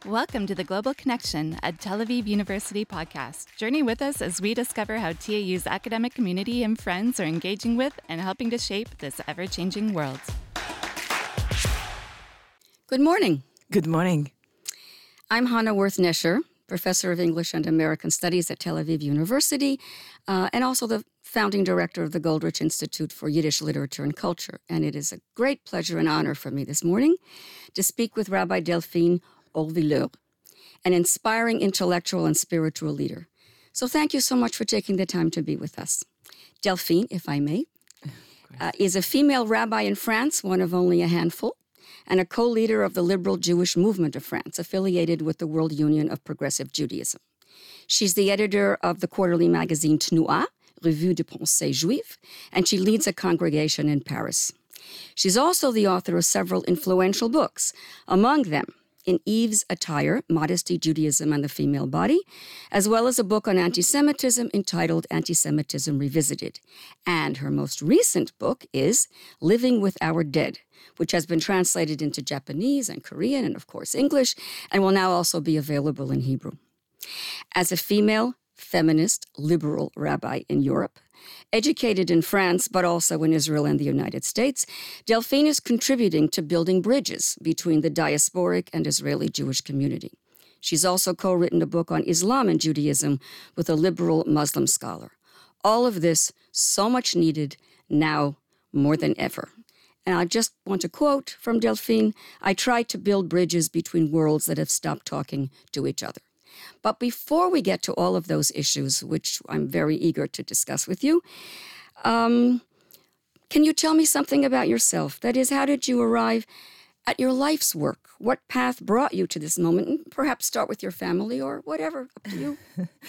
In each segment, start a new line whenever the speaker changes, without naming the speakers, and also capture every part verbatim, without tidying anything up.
Welcome to the Global Connection, a Tel Aviv University podcast. Journey with us as we discover how T A U's academic community and friends are engaging with and helping to shape this ever-changing world.
Good morning.
Good morning.
I'm Hannah Worth-Nesher, professor of English and American Studies at Tel Aviv University, uh, and also the founding director of the Goldrich Institute for Yiddish Literature and Culture. And it is a great pleasure and honor for me this morning to speak with Rabbi Delphine Orvilleur, an inspiring intellectual and spiritual leader. So thank you so much for taking the time to be with us. Delphine, if I may, uh, is a female rabbi in France, one of only a handful, and a co-leader of the liberal Jewish movement of France, affiliated with the World Union of Progressive Judaism. She's the editor of the quarterly magazine Tnu'a, Revue de Pensée Juive, and she leads a congregation in Paris. She's also the author of several influential books, among them In Eve's Attire, Modesty, Judaism, and the Female Body, as well as a book on anti-Semitism entitled Anti-Semitism Revisited. And her most recent book is Living with Our Dead, which has been translated into Japanese and Korean and, of course, English, and will now also be available in Hebrew. As a female, feminist, liberal rabbi in Europe, educated in France, but also in Israel and the United States, Delphine is contributing to building bridges between the diasporic and Israeli Jewish community. She's also co-written a book on Islam and Judaism with a liberal Muslim scholar. All of this so much needed now more than ever. And I just want to quote from Delphine, I try to build bridges between worlds that have stopped talking to each other. But before we get to all of those issues, which I'm very eager to discuss with you, um, can you tell me something about yourself? That is, how did you arrive at your life's work? What path brought you to this moment? And perhaps start with your family or whatever, up to you.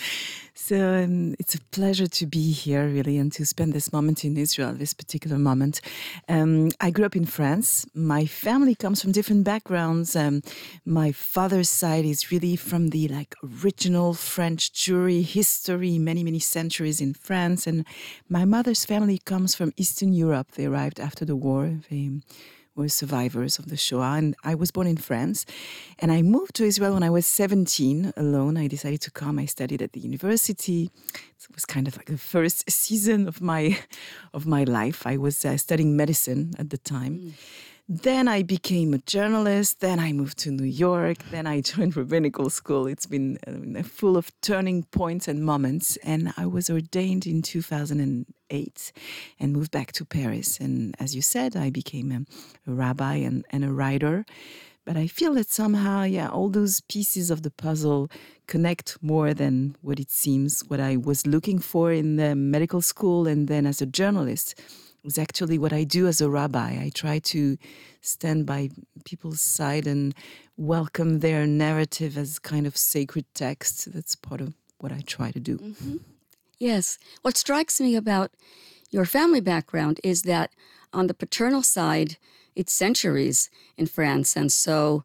So um, it's a pleasure to be here, really, and to spend this moment in Israel, this particular moment. Um, I grew up in France. My family comes from different backgrounds. Um, my father's side is really from the like original French Jewry history, many, many centuries in France. And my mother's family comes from Eastern Europe. They arrived after the war. They were survivors of the Shoah, and I was born in France. And I moved to Israel when I was seventeen, alone. I decided to come. I studied at the university. It was kind of like the first season of my of my life. I was uh, studying medicine at the time. Mm. Then I became a journalist. Then I moved to New York. Then I joined rabbinical school. It's been uh, full of turning points and moments. And I was ordained in two thousand eight and moved back to Paris. And as you said, I became a, a rabbi and, and a writer. But I feel that somehow, yeah, all those pieces of the puzzle connect more than what it seems. What I was looking for in the medical school and then as a journalist is actually what I do as a rabbi. I try to stand by people's side and welcome their narrative as kind of sacred text. That's part of what I try to do.
Mm-hmm. Yes. What strikes me about your family background is that on the paternal side, it's centuries in France, and so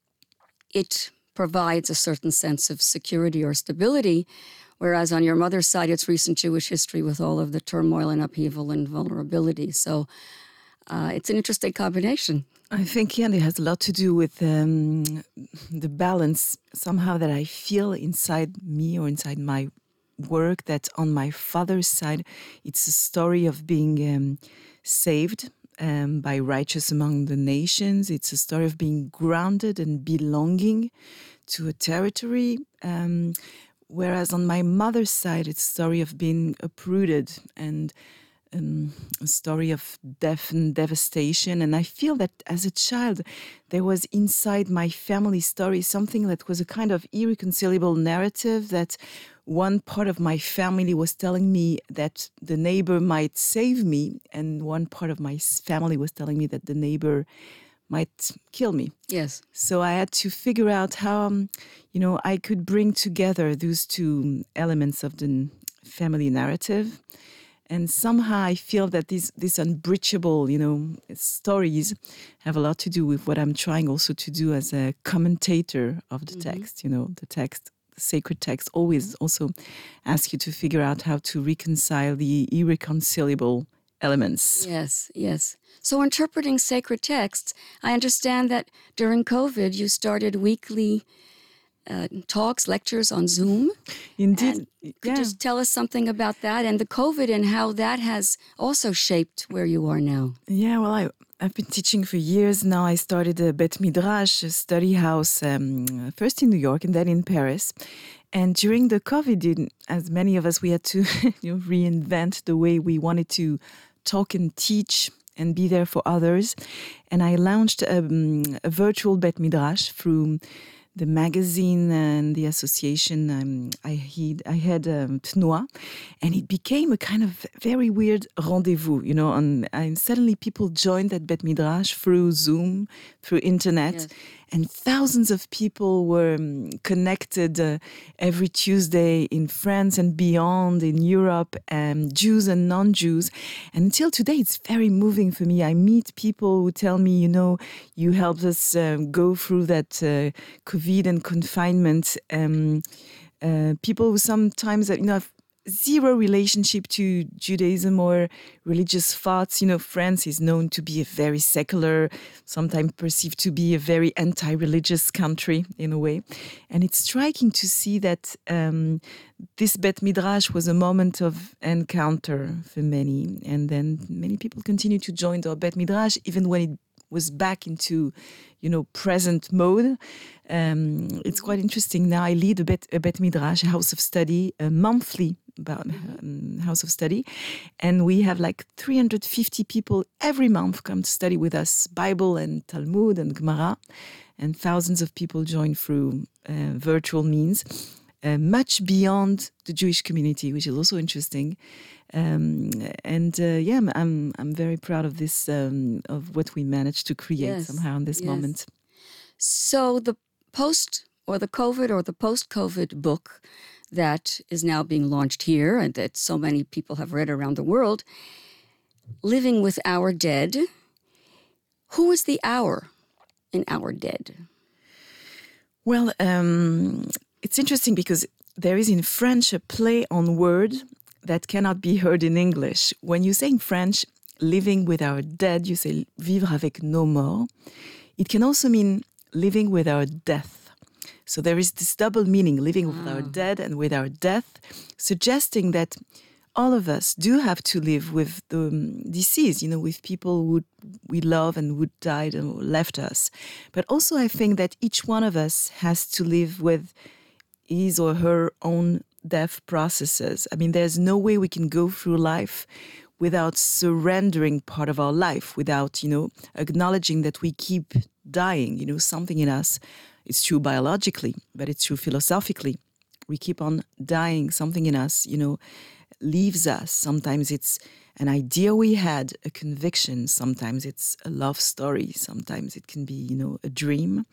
it provides a certain sense of security or stability, whereas on your mother's side, it's recent Jewish history with all of the turmoil and upheaval and vulnerability. So uh, it's an interesting combination.
I think, yeah, it has a lot to do with um, the balance somehow that I feel inside me or inside my work, that on my father's side, it's a story of being um, saved um, by righteous among the nations. It's a story of being grounded and belonging to a territory. Um, whereas on my mother's side, it's a story of being uprooted and um, a story of death and devastation. And I feel that as a child, there was inside my family story something that was a kind of irreconcilable narrative, that one part of my family was telling me that the neighbor might save me, and one part of my family was telling me that the neighbor might kill me.
Yes.
So I had to figure out how, um, you know, I could bring together those two elements of the family narrative. And somehow I feel that these these unbreachable, you know, stories have a lot to do with what I'm trying also to do as a commentator of the mm-hmm. text. You know, the text, the sacred text always also asks you to figure out how to reconcile the irreconcilable elements.
Yes, yes. So interpreting sacred texts, I understand that during COVID you started weekly uh, talks, lectures on Zoom.
Indeed.
And
yeah.
could you just tell us something about that and the COVID and how that has also shaped where you are now?
Yeah, well, I, I've been teaching for years now. I started a Bet Midrash, a study house, um, first in New York and then in Paris. And during the COVID, as many of us, we had to you know, reinvent the way we wanted to talk and teach and be there for others. And I launched um, a virtual Bet Midrash through the magazine and the association. Um, I had, I had um, Tnua, and it became a kind of very weird rendezvous, you know, and, and suddenly people joined that Bet Midrash through Zoom, through internet.
Yes.
And thousands of people were um, connected uh, every Tuesday in France and beyond, in Europe, um, Jews and non-Jews. And until today, it's very moving for me. I meet people who tell me, you know, you helped us um, go through that uh, COVID and confinement. Um, uh, people who sometimes, you know, have zero relationship to Judaism or religious thoughts. You know, France is known to be a very secular, sometimes perceived to be a very anti-religious country in a way. And it's striking to see that um, this Bet Midrash was a moment of encounter for many. And then many people continue to join our Bet Midrash, even when it was back into, you know, present mode. Um, it's quite interesting. Now I lead a Bet, a Bet Midrash, a house of study, a monthly about um, house of study, and we have like three hundred fifty people every month come to study with us Bible and Talmud and Gemara, and thousands of people join through uh, virtual means, uh, much beyond the Jewish community, which is also interesting. Um, and uh, yeah, I'm, I'm I'm very proud of this um, of what we managed to create
Yes.
somehow in this
Yes.
moment.
So the post or the COVID or the post-COVID book that is now being launched here and that so many people have read around the world, Living with Our Dead. Who is the our in Our Dead?
Well, um, it's interesting because there is in French a play on word that cannot be heard in English. When you say in French, living with our dead, you say vivre avec nos morts. It can also mean living with our death. So there is this double meaning, living with our dead and with our death, suggesting that all of us do have to live with the um, disease, you know, with people who we love and who died and left us. But also I think that each one of us has to live with his or her own death processes. I mean, there's no way we can go through life without surrendering part of our life, without, you know, acknowledging that we keep dying, you know, something in us. It's true biologically, but it's true philosophically. We keep on dying. Something in us, you know, leaves us. Sometimes it's an idea we had, a conviction. Sometimes it's a love story. Sometimes it can be, you know, a dream.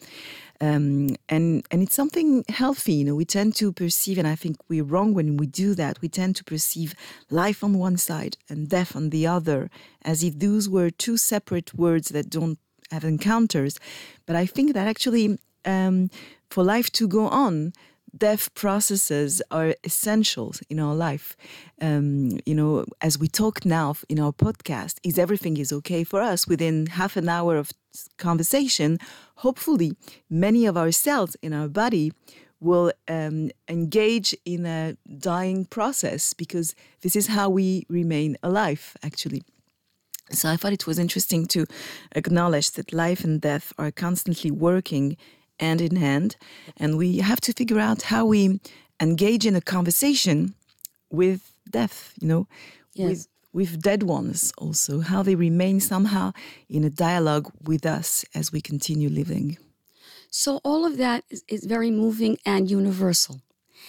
Um, and, and it's something healthy. You know, we tend to perceive, and I think we're wrong when we do that, we tend to perceive life on one side and death on the other, as if those were two separate words that don't have encounters. But I think that actually, um, for life to go on, death processes are essential in our life. Um, you know, as we talk now in our podcast, is everything is okay for us? Within half an hour of conversation, hopefully many of our cells in our body will um, engage in a dying process, because this is how we remain alive, actually. So I thought it was interesting to acknowledge that life and death are constantly working hand in hand, and we have to figure out how we engage in a conversation with death, you know,
Yes.
with with dead ones also, how they remain somehow in a dialogue with us as we continue living.
So all of that is, is very moving and universal.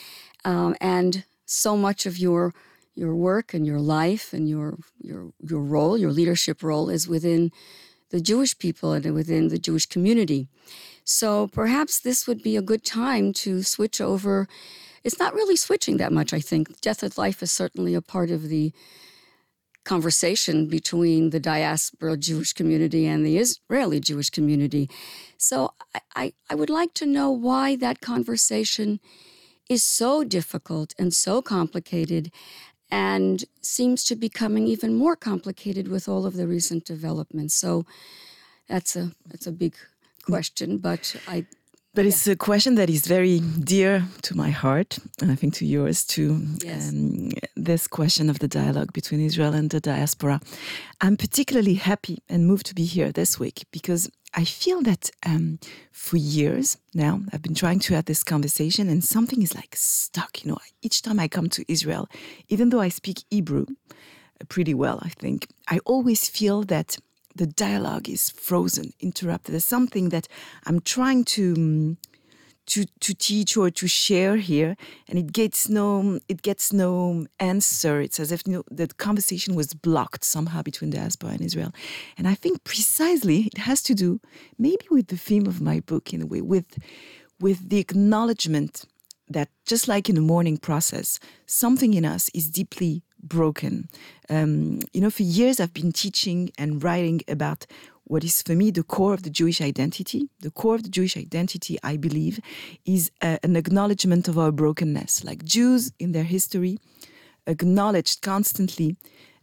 Um, and so much of your your work and your life and your your your role, your leadership role, is within the Jewish people and within the Jewish community. So perhaps this would be a good time to switch over. It's not really switching that much, I think. Death and life is certainly a part of the conversation between the diaspora Jewish community and the Israeli Jewish community. So I, I, I would like to know why that conversation is so difficult and so complicated, and seems to be becoming even more complicated with all of the recent developments. So that's a that's a big question, but I
But it's a question that is very dear to my heart, and I think to yours too.
Yes.
Um, this question of the dialogue between Israel and the diaspora. I'm particularly happy and moved to be here this week because I feel that um, for years now, I've been trying to have this conversation and something is like stuck. You know, each time I come to Israel, even though I speak Hebrew pretty well, I think, I always feel that the dialogue is frozen, interrupted. There's something that I'm trying to to to teach or to share here, and it gets no it gets no answer. It's as if, you know, the conversation was blocked somehow between diaspora and Israel. And I think precisely it has to do maybe with the theme of my book, in a way, with with the acknowledgement that just like in the mourning process, something in us is deeply broken. Um, you know, for years I've been teaching and writing about what is for me the core of the Jewish identity. The core of the Jewish identity, I believe, is uh, an acknowledgement of our brokenness. Like Jews in their history acknowledged constantly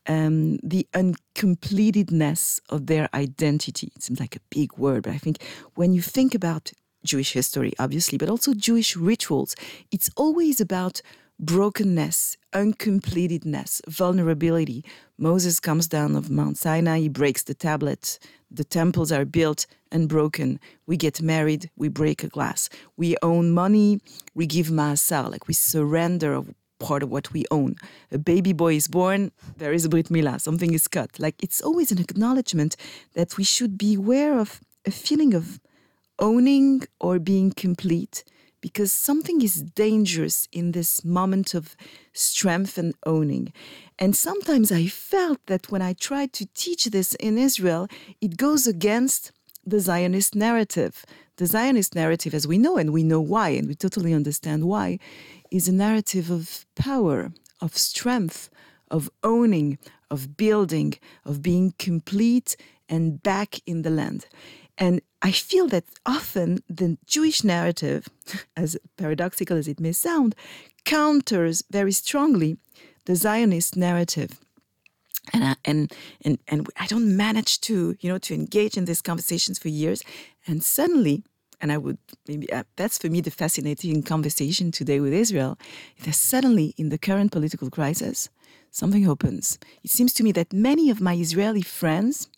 um, the uncompletedness of their identity. It seems like a big word, but I think when you think about Jewish history, obviously, but also Jewish rituals, it's always about brokenness, uncompletedness, vulnerability. Moses comes down of Mount Sinai, he breaks the tablet, the temples are built and broken. We get married, we break a glass. We own money, we give ma'asar, like we surrender of part of what we own. A baby boy is born, there is a brit milah, something is cut. Like it's always an acknowledgement that we should be aware of a feeling of owning or being complete, because something is dangerous in this moment of strength and owning. And sometimes I felt that when I tried to teach this in Israel, it goes against the Zionist narrative. The Zionist narrative, as we know, and we know why, and we totally understand why, is a narrative of power, of strength, of owning, of building, of being complete and back in the land. And I feel that often the Jewish narrative, as paradoxical as it may sound, counters very strongly the Zionist narrative. And I, and and and I don't manage to, you know, to engage in these conversations for years. And suddenly, and I would maybe uh, that's for me the fascinating conversation today with Israel, that suddenly in the current political crisis, something opens. It seems to me that many of my Israeli friends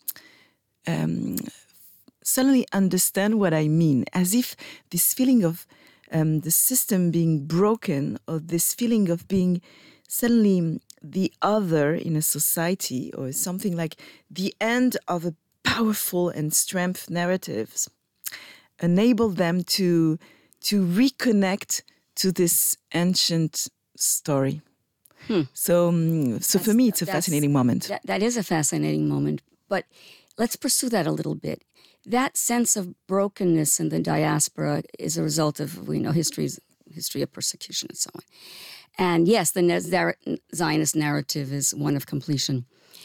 Um, suddenly understand what I mean, as if this feeling of um, the system being broken, or this feeling of being suddenly the other in a society, or something like the end of a powerful and strength narratives, enable them to to reconnect to this ancient story. Hmm. So, um, so for me, it's a fascinating moment.
That, that is a fascinating moment, but let's pursue that a little bit. That sense of brokenness in the diaspora is a result of, we know, history's, history of persecution and so on. And yes, the Zionist narrative is one of completion.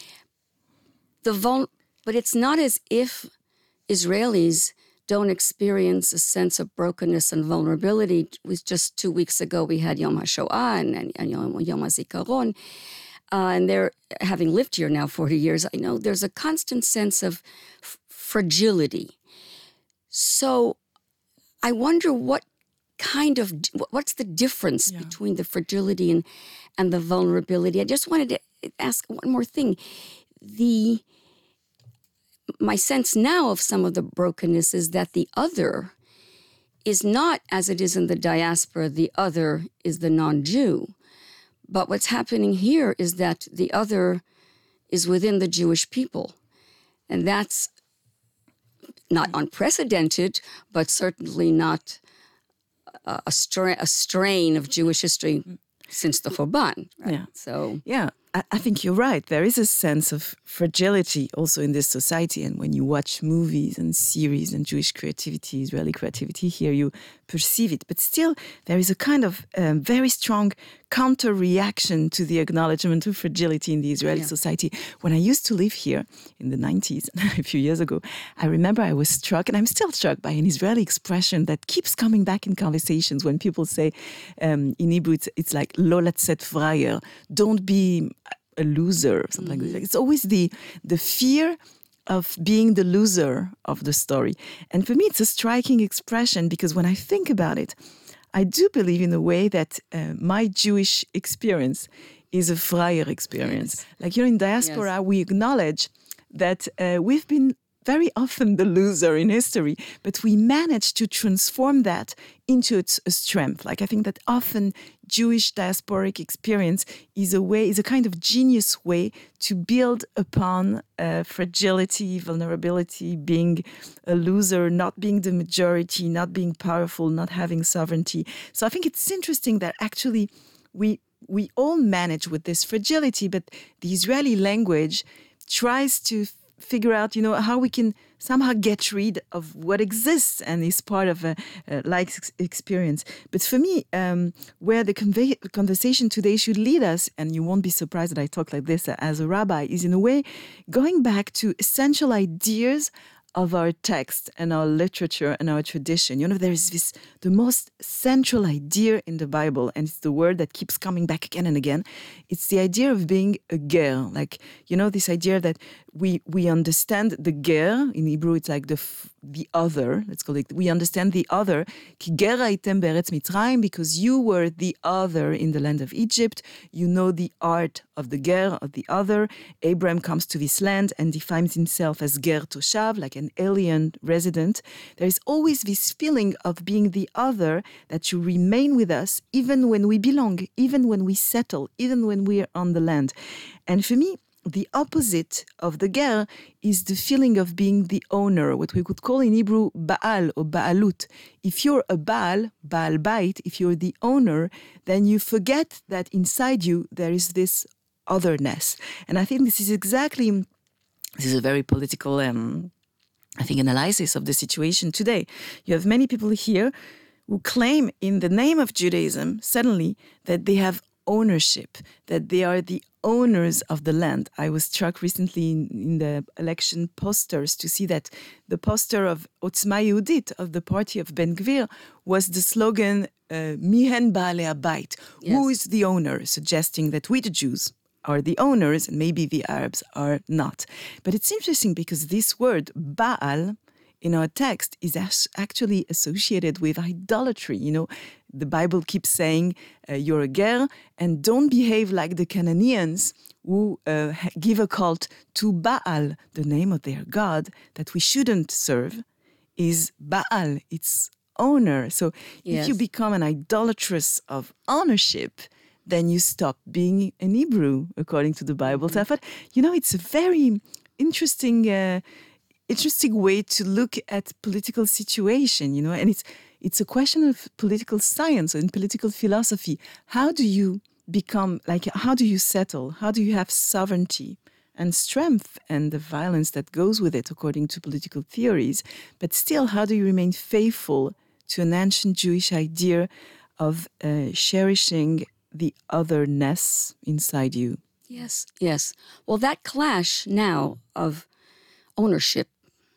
The vul- but it's not as if Israelis don't experience a sense of brokenness and vulnerability. It was just two weeks ago we had Yom HaShoah and, and, and Yom, Yom HaZikaron. Uh, and they're, having lived here now forty years, I know there's a constant sense of f- fragility. So I wonder what kind of, what's the difference yeah. between the fragility and, and the vulnerability? I just wanted to ask one more thing. The, my sense now of some of the brokenness is that the other is not, as it is in the diaspora, the other is the non-Jew. But what's happening here is that the other is within the Jewish people. And that's not unprecedented, but certainly not a, a, stra- a strain of Jewish history since the Churban. Right?
Yeah.
So,
yeah, I, I think you're right. There is a sense of fragility also in this society. And when you watch movies and series and Jewish creativity, Israeli creativity here, you perceive it. But still, there is a kind of um, very strong counter-reaction to the acknowledgement of fragility in the Israeli yeah. society. When I used to live here in the nineties, a few years ago, I remember I was struck, and I'm still struck by an Israeli expression that keeps coming back in conversations when people say, um, in Hebrew, it's, it's like, lo latzet frayer, don't be a loser, or something mm-hmm. like that. It's always the the fear of being the loser of the story. And for me, it's a striking expression because when I think about it, I do believe in a way that uh, my Jewish experience is a Freier experience. Yes. Like, you know, in diaspora, yes. we acknowledge that uh, we've been very often the loser in history, but we managed to transform that into its a strength. Like, I think that often Jewish diasporic experience is a way, is a kind of genius way to build upon uh, fragility, vulnerability, being a loser, not being the majority, not being powerful, not having sovereignty. So I think it's interesting that actually we we all manage with this fragility, but the Israeli language tries to figure out, you know, how we can somehow get rid of what exists and is part of a, a like experience. But for me, um, where the conve- conversation today should lead us, and you won't be surprised that I talk like this as a rabbi, is in a way going back to essential ideas of our text and our literature and our tradition. You know, there is this, the most central idea in the Bible, and it's the word that keeps coming back again and again. It's the idea of being a ger. Like, you know, this idea that we we understand the ger, in Hebrew it's like the the other, let's call it, we understand the other, ki ger haytem be'eretz Mitzrayim, because you were the other in the land of Egypt. You know the art of the ger, of the other. Abraham comes to this land and defines himself as ger toshav, like an alien resident. There is always this feeling of being the other, that you remain with us even when we belong, even when we settle, even when we are on the land. And for me, the opposite of the ger is the feeling of being the owner, what we could call in Hebrew Baal or Baalut. If you're a Baal, Baal Bait, if you're the owner, then you forget that inside you there is this otherness. And I think this is exactly, this is a very political, um, I think, analysis of the situation today. You have many people here who claim in the name of Judaism, suddenly, that they have ownership, that they are the owners of the land. I was struck recently in, in the election posters to see that the poster of Otzma Yehudit, of the party of Ben Gvir, was the slogan, uh, Mihen Baalei Habayit, who is the owner, suggesting that we, the Jews, are the owners and maybe the Arabs are not. But it's interesting because this word, Baal, in our text is actually associated with idolatry. You know, the Bible keeps saying, uh, you're a ger, and don't behave like the Canaanians who uh, give a cult to Baal, the name of their god, that we shouldn't serve, is Baal, its owner. So yes. If you become an idolatress of ownership, then you stop being an Hebrew, according to the Bible. Mm-hmm. So I thought, you know, it's a very interesting uh, interesting way to look at political situation, you know, and it's it's a question of political science and political philosophy. How do you become, like, how do you settle? How do you have sovereignty and strength and the violence that goes with it, according to political theories? But still, how do you remain faithful to an ancient Jewish idea of uh, cherishing the otherness inside you?
Yes, yes. Well, that clash now of ownership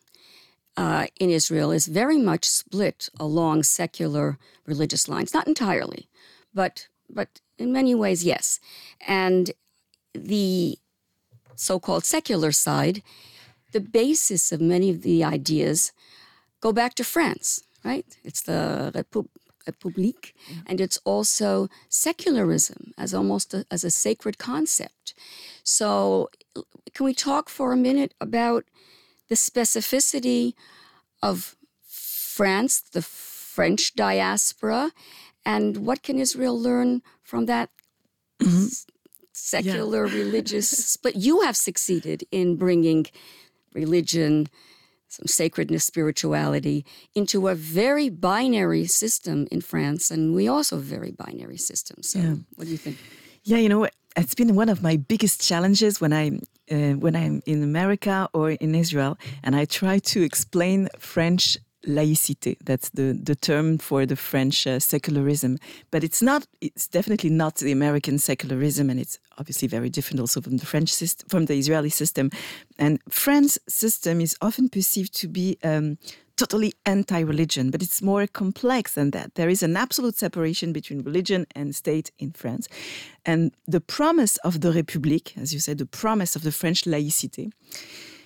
Uh, in Israel is very much split along secular religious lines. Not entirely, but but in many ways, yes. And the so-called secular side, the basis of many of the ideas go back to France, right? It's the Repu- République, yeah. And it's also secularism as almost a, as a sacred concept. So can we talk for a minute about the specificity of France, the French diaspora, and what can Israel learn from that mm-hmm. s- secular yeah. religious? But you have succeeded in bringing religion, some sacredness, spirituality, into a very binary system in France, and we also have a very binary system. So yeah. What do you think?
Yeah, you know, it's been one of my biggest challenges when I uh, when I'm in America or in Israel, and I try to explain French laïcité. That's the, the term for the French uh, secularism. But it's not. It's definitely not the American secularism, and it's obviously very different also from the French system, from the Israeli system. And France's system is often perceived to be Um, totally anti-religion, but it's more complex than that. There is an absolute separation between religion and state in France. And the promise of the République, as you said, the promise of the French laïcité,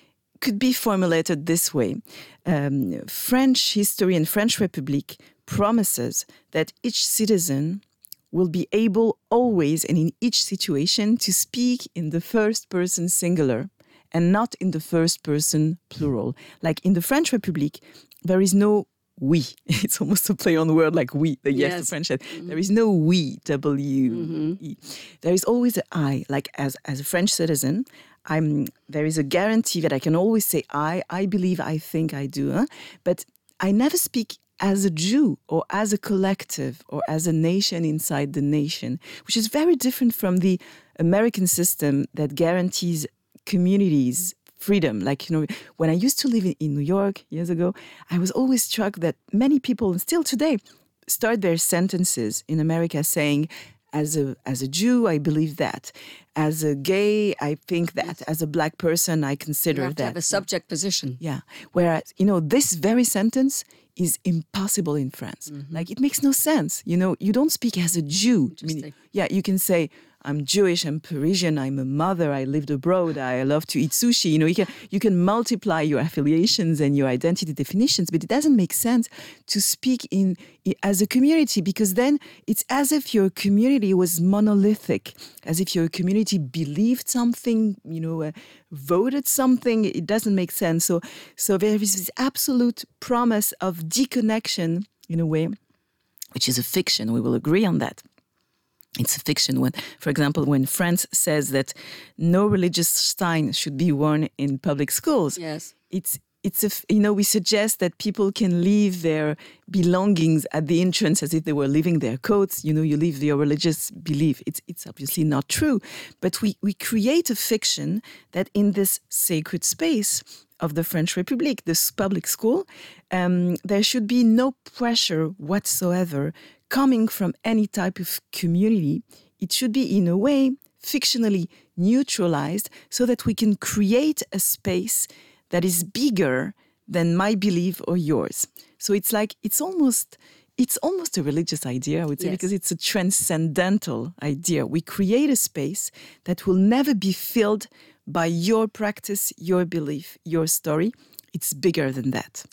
could be formulated this way. Um, French history and French Republic promises that each citizen will be able always and in each situation to speak in the first person singular and not in the first person plural. Like in the French Republic, there is no we. It's almost a play on word like we, the yes,
Yes.
the French said. Mm-hmm. There is no we, W E.
Mm-hmm.
There is always an I. Like as, as a French citizen, I'm. there is a guarantee that I can always say I, I believe, I think, I do. Huh? But I never speak as a Jew or as a collective or as a nation inside the nation, which is very different from the American system that guarantees communities freedom. Like, you know, when I used to live in, in New York years ago, I was always struck that many people, and still today, start their sentences in America saying, as a as a Jew, I believe that. As a gay, I think that. Yes. As a black person, I consider
you have
that.
To have a subject position.
Yeah. Whereas, you know, this very sentence is impossible in France. Mm-hmm. Like, it makes no sense. You know, you don't speak as a Jew. I mean, yeah, you can say, I'm Jewish, I'm Parisian, I'm a mother, I lived abroad, I love to eat sushi. You know, you can you can multiply your affiliations and your identity definitions, but it doesn't make sense to speak in, in as a community, because then it's as if your community was monolithic, as if your community believed something, you know, uh, voted something. It doesn't make sense. So, so there is this absolute promise of deconnection in a way, which is a fiction. We will agree on that. It's a fiction. When, for example, when France says that no religious sign should be worn in public schools,
yes,
it's it's a you know we suggest that people can leave their belongings at the entrance as if they were leaving their coats. You know, you leave your religious belief. It's it's obviously not true, but we we create a fiction that in this sacred space of the French Republic, this public school, um, there should be no pressure whatsoever coming from any type of community. It should be, in a way, fictionally neutralized so that we can create a space that is bigger than my belief or yours. So it's like, it's almost, it's almost a religious idea, I would say, yes, because it's a transcendental idea. We create a space that will never be filled by your practice, your belief, your story. It's bigger than that.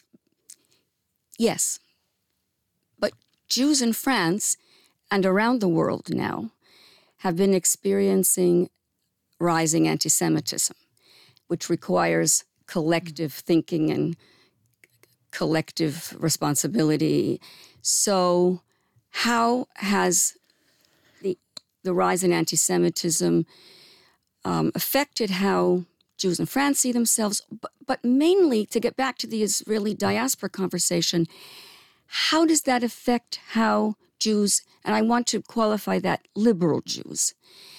Yes. But Jews in France and around the world now have been experiencing rising anti-Semitism, which requires collective thinking and collective responsibility. So how has the, the rise in anti-Semitism um, affected how Jews in France see themselves, but, but mainly, to get back to the Israeli diaspora conversation, how does that affect how Jews, and I want to qualify that, liberal Jews,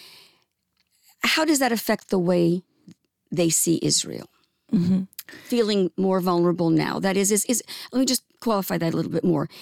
how does that affect the way they see Israel? Mm-hmm. Feeling more vulnerable now. That is, is, is, let me just qualify that a little bit more.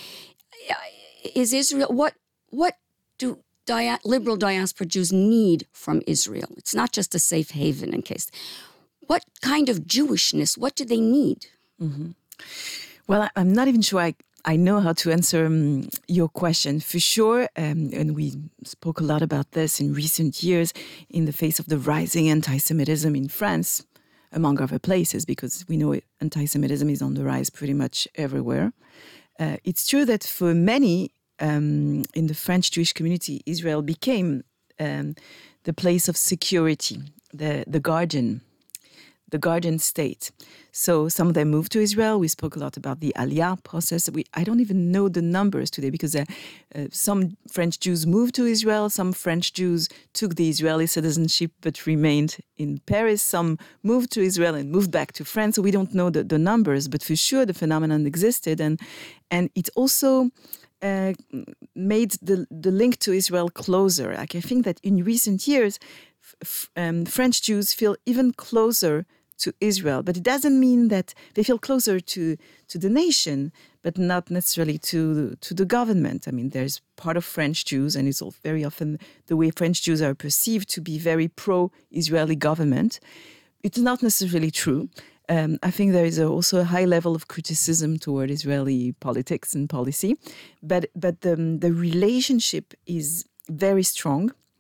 Is Israel, what, what do dia, liberal diaspora Jews need from Israel? It's not just a safe haven in case. What kind of Jewishness, what do they need?
Mm-hmm. Well, I'm not even sure I, I know how to answer um, your question. For sure, um, and we spoke a lot about this in recent years in the face of the rising anti-Semitism in France, among other places, because we know anti-Semitism is on the rise pretty much everywhere. Uh, it's true that for many um, in the French Jewish community, Israel became um, the place of security, the, the guardian, the guardian state. So some of them moved to Israel. We spoke a lot about the Aliyah process. We, I don't even know the numbers today because uh, uh, some French Jews moved to Israel. Some French Jews took the Israeli citizenship but remained in Paris. Some moved to Israel and moved back to France. So we don't know the, the numbers, but for sure the phenomenon existed. And, and it also uh, made the, the link to Israel closer. Like I think that in recent years, f- um, French Jews feel even closer to Israel, but it doesn't mean that they feel closer to, to the nation, but not necessarily to, to the government. I mean, there's part of French Jews, and it's all very often the way French Jews are perceived to be very pro-Israeli government. It's not necessarily true. Um, I think there is a, also a high level of criticism toward Israeli politics and policy, but but the, the relationship is very strong.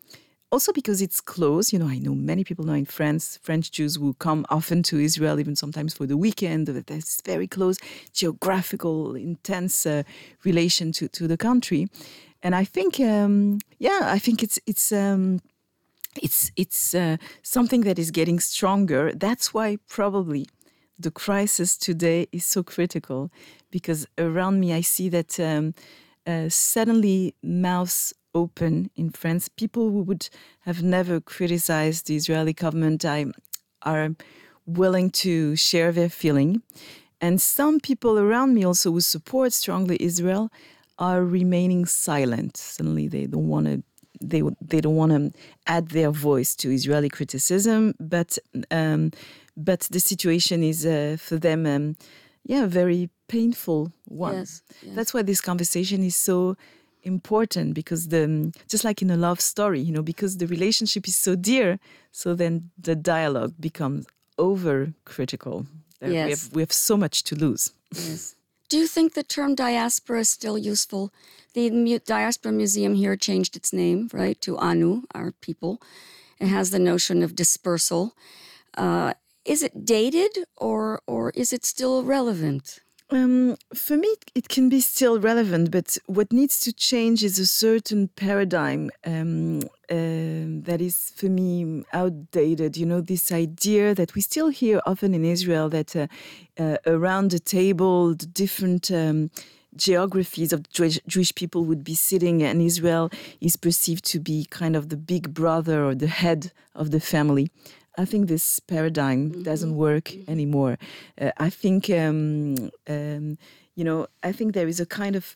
also because it's close. You know, I know many people now in France, French Jews who come often to Israel, even sometimes for the weekend. That's very close, geographical, intense uh, relation to, to the country. And I think, um, yeah, I think it's it's um, it's it's uh, something that is getting stronger. That's why probably the crisis today is so critical, because around me I see that um, uh, suddenly mouths open in France. People who would have never criticized the Israeli government I, are willing to share their feeling. And some people around me also who support strongly Israel are remaining silent. Suddenly they don't want to they they don't want to add their voice to Israeli criticism, but um, but the situation is uh, for them um, yeah, a very painful one.
Yes, yes.
That's why this conversation is so important, because the just like in a love story, you know, because the relationship is so dear, so then the dialogue becomes over critical.
Yes.
We have we have so much to lose.
Yes. Do you think the term diaspora is still useful? The Mu- Diaspora Museum here changed its name, right, to Anu, our people. It has the notion of dispersal. Uh, is it dated, or or is it still relevant?
Um, for me, it can be still relevant, but what needs to change is a certain paradigm um, uh, that is, for me, outdated. You know, this idea that we still hear often in Israel that uh, uh, around the table, the different um, geographies of Jewish, Jewish people would be sitting, and Israel is perceived to be kind of the big brother or the head of the family. I think this paradigm mm-hmm. doesn't work mm-hmm. anymore. Uh, I think, um, um, you know, I think there is a kind of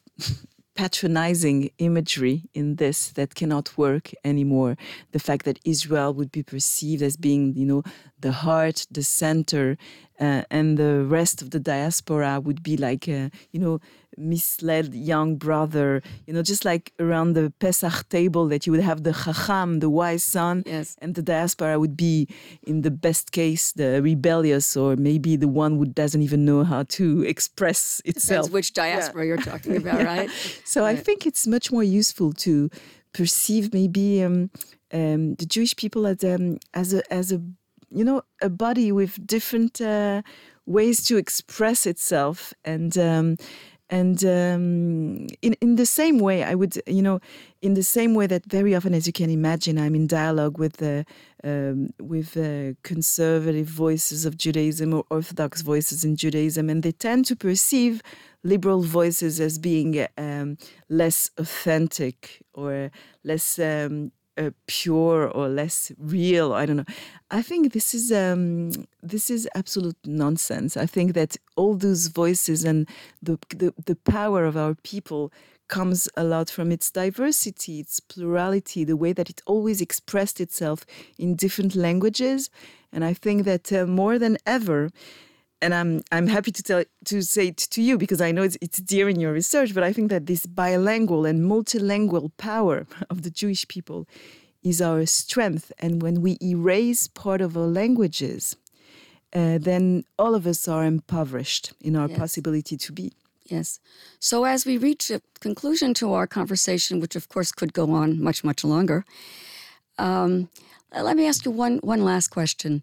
patronizing imagery in this that cannot work anymore. The fact that Israel would be perceived as being, you know, the heart, the center, uh, and the rest of the diaspora would be like, uh, you know, misled young brother, you know, just like around the Pesach table that you would have the Chacham, the wise son,
yes.
and the diaspora would be, in the best case, the rebellious, or maybe the one who doesn't even know how to express itself.
Depends which diaspora yeah. you're talking about, yeah. right?
So
right.
I think it's much more useful to perceive maybe um, um, the Jewish people as, um, as a as a you know a body with different uh, ways to express itself, and. Um, And um, in, in the same way, I would, you know, in the same way that very often, as you can imagine, I'm in dialogue with uh, um, with uh, conservative voices of Judaism or Orthodox voices in Judaism, and they tend to perceive liberal voices as being um, less authentic or less um, uh, pure or less real. I don't know. I think this is um, this is absolute nonsense. I think that all those voices and the, the the power of our people comes a lot from its diversity, its plurality, the way that it always expressed itself in different languages. And I think that uh, more than ever, and I'm I'm happy to tell to say it to you, because I know it's it's dear in your research, but I think that this bilingual and multilingual power of the Jewish people is our strength. And when we erase part of our languages, uh, then all of us are impoverished in our
yes.
possibility to be.
Yes. So as we reach a conclusion to our conversation, which of course could go on much, much longer, um, let me ask you one one last question.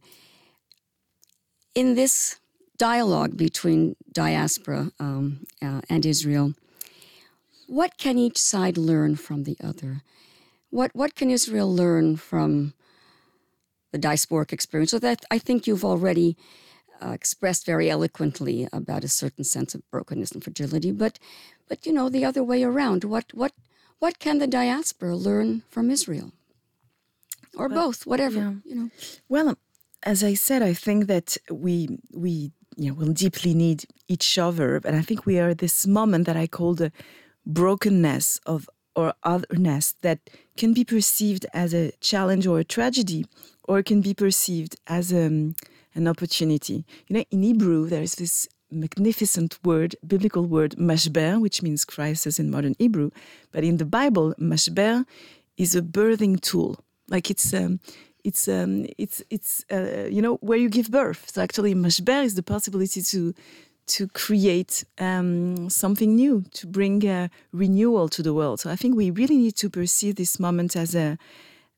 In this dialogue between diaspora um, uh, and Israel, what can each side learn from the other? What what can Israel learn from the diasporic experience? So that I think you've already uh, expressed very eloquently about a certain sense of brokenness and fragility. But but you know, the other way around. What what what can the diaspora learn from Israel, or well, both? Whatever yeah. you know.
Well, as I said, I think that we we. Yeah, we'll deeply need each other. And I think we are at this moment that I call the brokenness of or otherness that can be perceived as a challenge or a tragedy, or can be perceived as um, an opportunity. You know, in Hebrew, there's this magnificent word, biblical word, mashber, which means crisis in modern Hebrew. But in the Bible, mashber is a birthing tool. Like it's... Um, It's um it's it's uh, you know, where you give birth. So actually, mashber is the possibility to to create um, something new, to bring uh, renewal to the world. So I think we really need to perceive this moment as a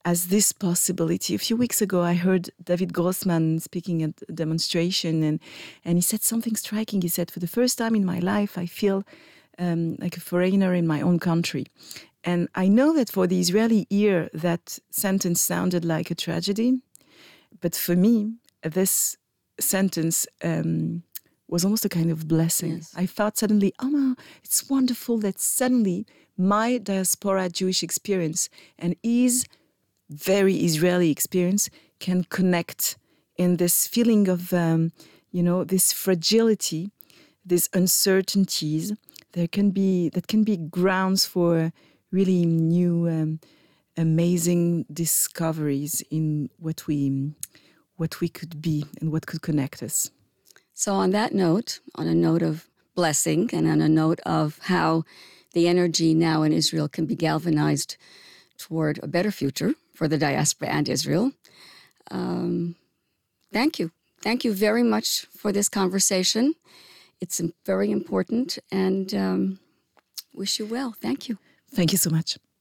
as this possibility. A few weeks ago, I heard David Grossman speaking at a demonstration, and, and he said something striking. He said, for the first time in my life, I feel um, like a foreigner in my own country. And I know that for the Israeli ear, that sentence sounded like a tragedy. But for me, this sentence um, was almost a kind of blessing. Yes. I thought suddenly, oh, no, it's wonderful that suddenly my diaspora Jewish experience and his very Israeli experience can connect in this feeling of, um, you know, this fragility, these uncertainties. There can be that can be grounds for really new, um, amazing discoveries in what we what we could be and what could connect us.
So on that note, on a note of blessing and on a note of how the energy now in Israel can be galvanized toward a better future for the diaspora and Israel, um, thank you. Thank you very much for this conversation. It's very important, and um, wish you well. Thank you.
Thank you so much.